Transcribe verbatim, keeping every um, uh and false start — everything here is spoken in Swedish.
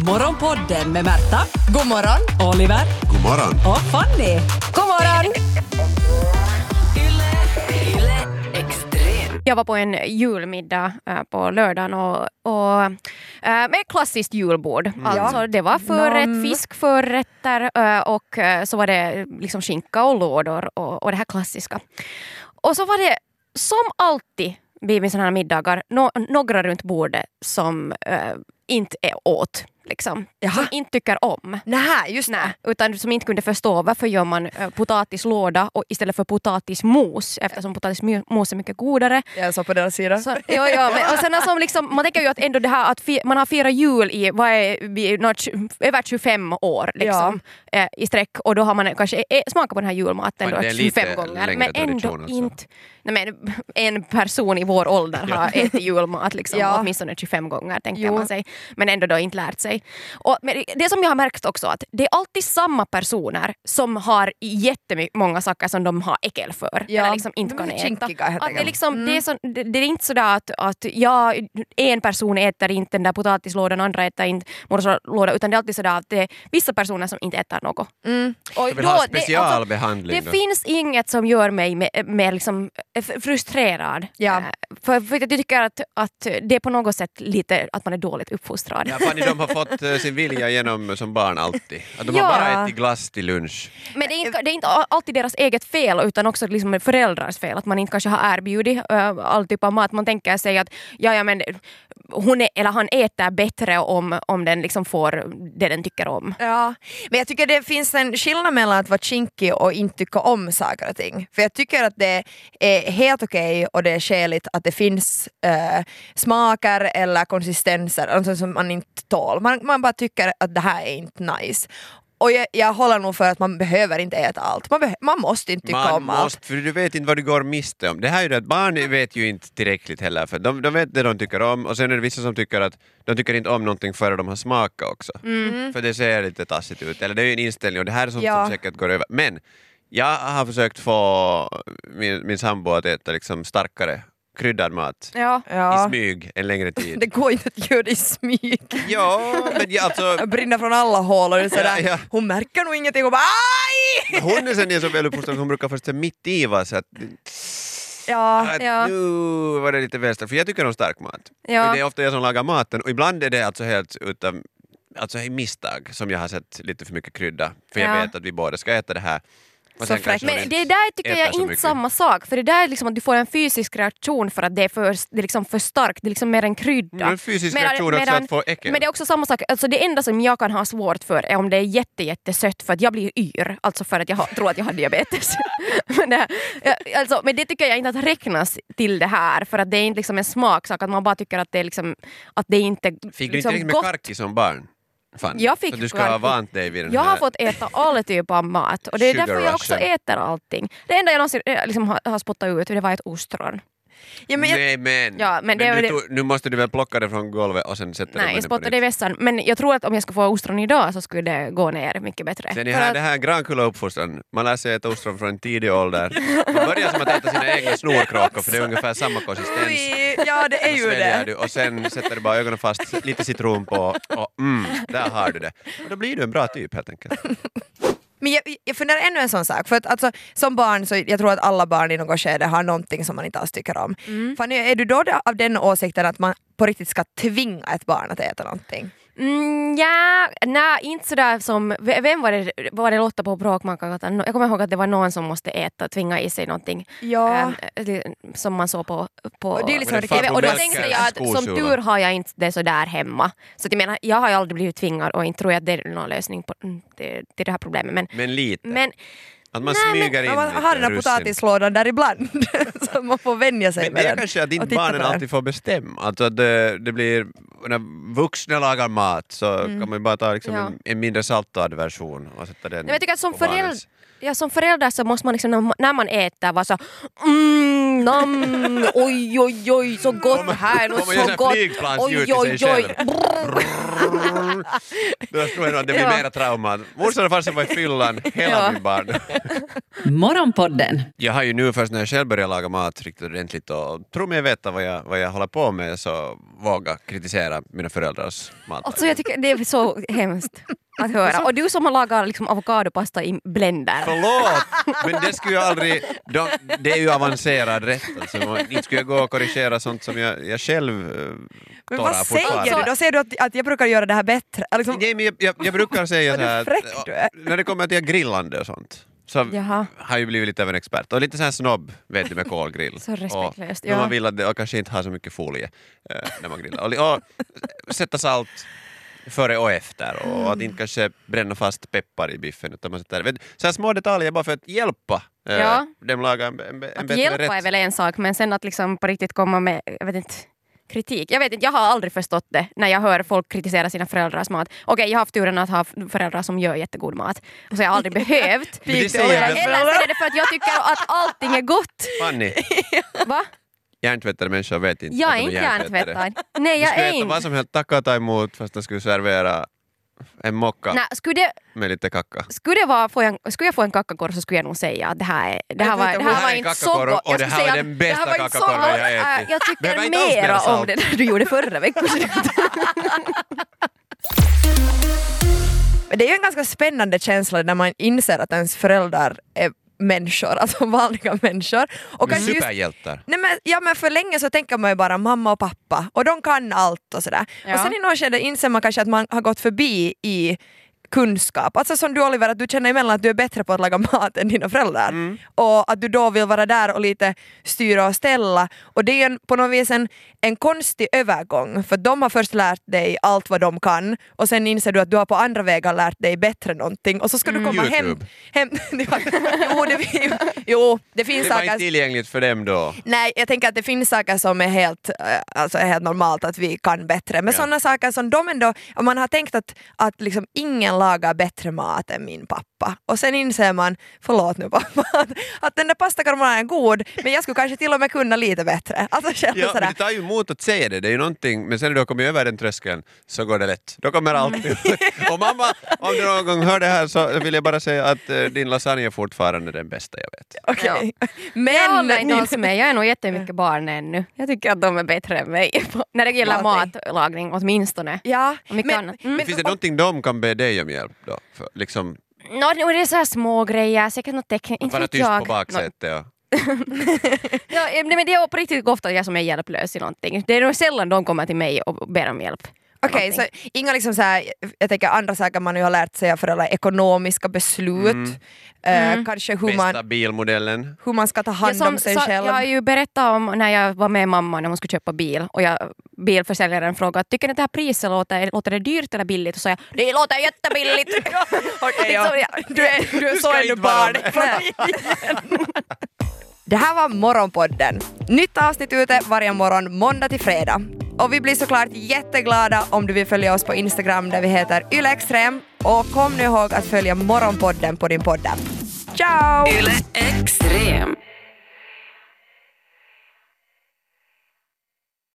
Morgonpodden med Märta. God morgon. Oliver. God morgon. Och Fanny. God morgon. Jag var på en julmiddag äh, på lördagen och, och äh, med ett klassiskt julbord. Mm. Alltså det var förrätt, Nam. fiskförrätter äh, och äh, så var det liksom skinka och lådor och, och det här klassiska. Och så var det som alltid vid sådana här middagar no, några runt bordet som äh, inte är åt. Liksom, som inte tycker om. Nähä, just det. Nej, utan som inte kunde förstå varför gör man äh, potatislåda och istället för potatismos, eftersom potatismos är mycket godare. Jag sa på deras sida. Så, ja, ja, men, och sen alltså, liksom, man tänker ju att ändå det här att fi, man har firat jul i vad är, vi, något, över tjugofem år liksom, ja. äh, i sträck och då har man kanske äh, smakat på den här julmaten då, tjugofem gånger. Men ändå alltså. inte nej, men, en person i vår ålder har ätit julmat liksom, ja. åtminstone tjugofem gånger tänker jo. man sig. Men ändå då inte lärt sig. Och det som jag har märkt också att det är alltid samma personer som har jättemånga saker som de har äckel för ja. eller liksom inte kan äta. Att det, liksom, mm. det, är så, det, det är inte sådär att, att ja, en person äter inte den där potatislådan och andra äter inte morgonlåda utan det är alltid sådär att det är vissa personer som inte äter något. Mm. Och jag vill då, ha specialbehandling. Det, alltså, det finns inget som gör mig med, med liksom frustrerad. Ja. För, för jag tycker att, att det är på något sätt lite att man är dåligt uppfostrad. Ja, Fanny, de har fått sin vilja genom som barn alltid. Att de ja. har bara ätit glass till lunch. Men det är inte, det är inte alltid deras eget fel utan också liksom föräldrars fel. Att man inte kanske har erbjudit uh, all typ av mat. Man tänker sig att ja, ja, men hon är, eller han äter bättre om, om den liksom får det den tycker om. Ja, men jag tycker det finns en skillnad mellan att vara kinkig och inte tycka om saker och ting. För jag tycker att det är helt okej och det är skäligt att det finns uh, smaker eller konsistenser alltså som man inte tål. Man, man bara tycker att det här är inte nice. Och jag, jag håller nog för att man behöver inte äta allt. Man, be- man måste inte tycka man om måste, allt. För du vet inte vad du går miste om. Det här är ju det att barn vet ju inte tillräckligt heller. För de, de vet det de tycker om. Och sen är det vissa som tycker att de tycker inte om någonting före de har smakat också. Mm. För det ser lite tassigt ut. Eller det är ju en inställning och det här är sånt ja. som säkert går över. Men jag har försökt få min, min sambo att äta liksom starkare kryddad mat ja. i smyg en längre tid. Det går inte att göra det i smyg. Ja, men jag, alltså... jag brinner från alla hål och det är sådär, ja, ja. hon märker nog ingenting och bara aj! Hon är sen är så väl uppfostrad, hon brukar först mitt i va, så att ja, att ja. nu var det lite väl starkt, för jag tycker om stark mat. Ja. Det är ofta jag som lagar maten och ibland är det alltså helt utan alltså i misstag som jag har sett lite för mycket krydda, för jag ja. vet att vi båda ska äta det här. Men det där tycker jag är inte samma sak. För det där är liksom att du får en fysisk reaktion för att det är för, det är liksom för starkt. Det är liksom mer en krydda. En fysisk medan, reaktion också medan, att få äckel. Men det är också samma sak. Alltså det enda som jag kan ha svårt för är om det är jätte, jättesött för att jag blir yr. Alltså för att jag har, tror att jag har diabetes. men, det, alltså, men det tycker jag inte att räknas till det här. För att det är inte liksom en smaksak. Att man bara tycker att det är liksom att det inte Fick du liksom inte med gott. karki som barn? Fan. Jag fick så du ska ha vant dig vid den jag här... har fått äta alla typer av mat och det är därför jag också äter allting. Det enda jag någonsin liksom har, har spottat ut det var ett ostron. Ja, men jag... Nej men, ja, men, men det, nu, det... tog, nu måste du väl plocka det från golvet och sen sätta nej, det jag spottade det i vässan. Men jag tror att om jag ska få ostron idag så skulle det gå ner mycket bättre. Sen är här, att... det här grankulla uppfostran. Man lär sig äta ostron från en tidig ålder. Man börjar som att äta sina egna snorkråkor för det är ungefär samma konsistens. Ja, det är ju det. Du, och sen sätter du bara ögonen fast, lite citron på och mm, där har du det. Och då blir du en bra typ helt enkelt. Men jag, jag funderar ännu en sån sak, för att alltså, som barn så jag tror att alla barn i något skede har någonting som man inte alls tycker om. Mm. Fanny, är du då av den åsikten att man på riktigt ska tvinga ett barn att äta någonting? Mm, ja, nej, inte sådär som, vem var det, var det Lotta på Bråkmakargatan? Jag kommer ihåg att det var någon som måste äta, tvinga i sig någonting ja. äh, som man såg på, på och, det är liksom T V. Och då tänkte jag att som tur har jag inte det så där hemma. Så jag menar, jag har ju aldrig blivit tvingad och inte tror jag att det är någon lösning på det, det, det här problemet. Men, men lite. Men, att man nej, smyger men, in man har den här potatislådan där ibland så man får vänja sig men med det är den. kanske att inte barnen alltid får bestämma. Alltså att det, det blir, när vuxna lagar mat så mm. kan man bara ta liksom ja. en, en mindre saltad version och sätta den. Jag tycker att som förälder, ja, som förälder så måste man liksom, när man äter vara så mm, nam, oj oj oj så gott här och så gott oj oj oj då tror jag att det blir ja. mera trauma. Morsan och farsan var i fyllan hela ja. min barn. Morgonpodden. Jag har ju nu först när jag själv börjar laga mat riktigt ordentligt och tror mig veta vad jag, vad jag håller på med, så våga kritisera mina föräldrars mat. Alltså jag tycker det är så hemskt att höra. Och du som har lagat liksom avokadopasta i blender. Förlåt, men det skulle jag aldrig... De, det är ju avancerad rätt. Alltså. Inte skulle jag gå och korrigera sånt som jag, jag själv uh, Men vad säger du? Då säger du att, att jag brukar göra det här bättre. Liksom... Nej, men jag, jag, jag brukar säga så här att, fräck du är. när det kommer till grillande och sånt, så Jaha. har ju blivit lite av en expert. Och lite så här snobb, vet du, med kolgrill. Så respektlöst, och, ja. Man vill att det, och kanske inte ha så mycket folie eh, när man grillar. Och, och sätta salt före och efter. Och mm. att inte kanske bränna fast peppar i biffen. Utan man sätter, vet, så här små detaljer bara för att hjälpa eh, ja. dem laga en, en, en att bättre hjälpa rätt. är väl en sak, men sen att liksom på riktigt komma med, jag vet inte, kritik. Jag vet inte, jag har aldrig förstått det när jag hör folk kritisera sina föräldrars mat. Okej, jag har haft turen att ha föräldrar som gör jättegod mat. Och så jag har aldrig behövt. Men det säger jag. Eller så är det för att jag tycker att allting är gott. Fanny, Va? hjärntvättade människor vet inte. Jag är att de inte hjärntvättade. hjärntvättad. Nej, jag Du skulle är äta inte. vad som helst, tacka och ta emot fast de skulle servera en mocka Nej, skulle det, med lite kacka. skulle, det vara, få en, skulle jag få en kackakorv så skulle jag nog säga att det här, är, det här var, det här var inte så gott. Och det här var den bästa kackakorven jag har ätit. Jag tycker Behöver inte alls mera mera salt. om det där du gjorde förra veckan. Det är ju en ganska spännande känsla när man inser att ens föräldrar är människor, alltså vanliga människor. Och Men kanske superhjältar. Just, nej men, ja, men för länge så tänker man ju bara mamma och pappa och de kan allt och sådär. Ja. Och sen i något skede inser man kanske att man har gått förbi i kunskap. Alltså som du Oliver, att du känner emellan att du är bättre på att laga mat än dina föräldrar. Mm. Och att du då vill vara där och lite styra och ställa. Och det är en, på något vis en, en konstig övergång. För de har först lärt dig allt vad de kan. Och sen inser du att du har på andra vägar lärt dig bättre någonting. Och så ska mm. du komma YouTube. hem. hem jo, det, jo, det finns Det var saker... inte tillgängligt för dem då. Nej, jag tänker att det finns saker som är helt, alltså är helt normalt att vi kan bättre. Men ja. Sådana saker som de ändå... Om man har tänkt att, att liksom ingen lagar bättre mat än min pappa. Och sen inser man, förlåt nu pappa, att, att den där pasta carbonara är god, men jag skulle kanske till och med kunna lite bättre. Alltså själv ja, sådär. men det tar ju emot att säga det. Det är ju någonting, men sen när du har kommit över den tröskeln så går det lätt. Då kommer allt ut. Och mamma, om du någon gång hör det här så vill jag bara säga att uh, din lasagne är fortfarande den bästa jag vet. Okej. Okay. Ja. Men... Jag håller inte alls med. Jag är nog jättemycket barn ännu. Jag tycker att de är bättre än mig. När det gäller matlagning åtminstone. Ja. Men, mm. men finns det någonting de kan be dig om hjälp då? För, liksom... No, det är så här små grejer. Säkert något tecken. Inte bara vet tyst jag. på baksätet. Ja. Ja, men det är på riktigt ofta jag som är hjälplös i någonting. Det är nog sällan de kommer till mig och ber om hjälp. Okej, okay, så inga liksom så här, jag tänker andra saker man ju har lärt sig av föräldrar, ekonomiska beslut, mm. Uh, mm. kanske hur man, bästa bilmodellen. Hur man ska ta hand ja, som, om sig så, själv. Jag har ju berättat om när jag var med mamma när hon skulle köpa bil och jag, bilförsäljaren frågade, tycker ni att det här priset låter, låter det dyrt eller billigt? Och så jag, det låter jättebilligt. Okay, ja. Du är, du är så ännu barn. Det här var Morgonpodden. Nytt avsnitt ute varje morgon måndag till fredag. Och vi blir såklart jätteglada om du vill följa oss på Instagram där vi heter YleExtrem. Och kom nu ihåg att följa Morgonpodden på din podd. Ciao! Yle Extrem.